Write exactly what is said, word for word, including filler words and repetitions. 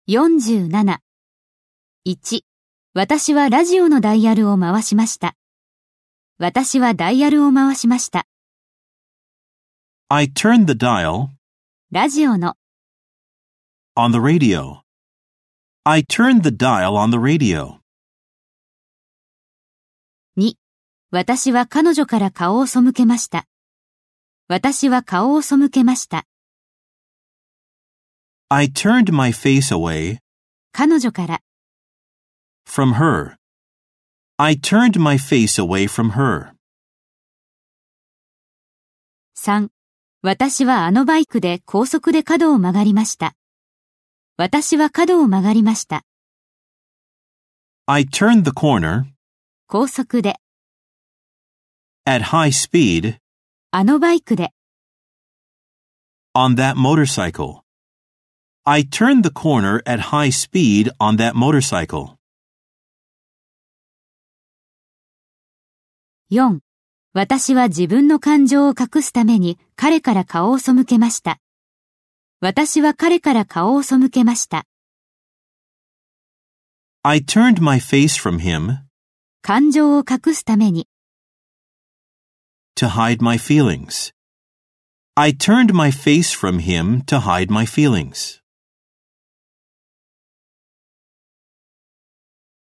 よんじゅうなな。いち. 私はラジオのダイヤルを回しました。私はダイヤルを回しました。 I turned the dial ラジオの on the radio. I turned the dial on the radio. に. 私は彼女から顔を背けました。私は顔を背けました。 I turned my face away 彼女から from her. I turned my face away from her. さん. 私はあのバイクで高速で角を曲がりました。私は角を曲がりました。 I turned the corner 高速で at high speed あのバイクで on that motorcycle. I turned the corner at high speed on that motorcycle. よん. 私は自分の感情を隠すために彼から顔を背けました。私は彼から顔を背けました。 I turned my face from him 感情を隠すために to hide my feelings. I turned my face from him to hide my feelings.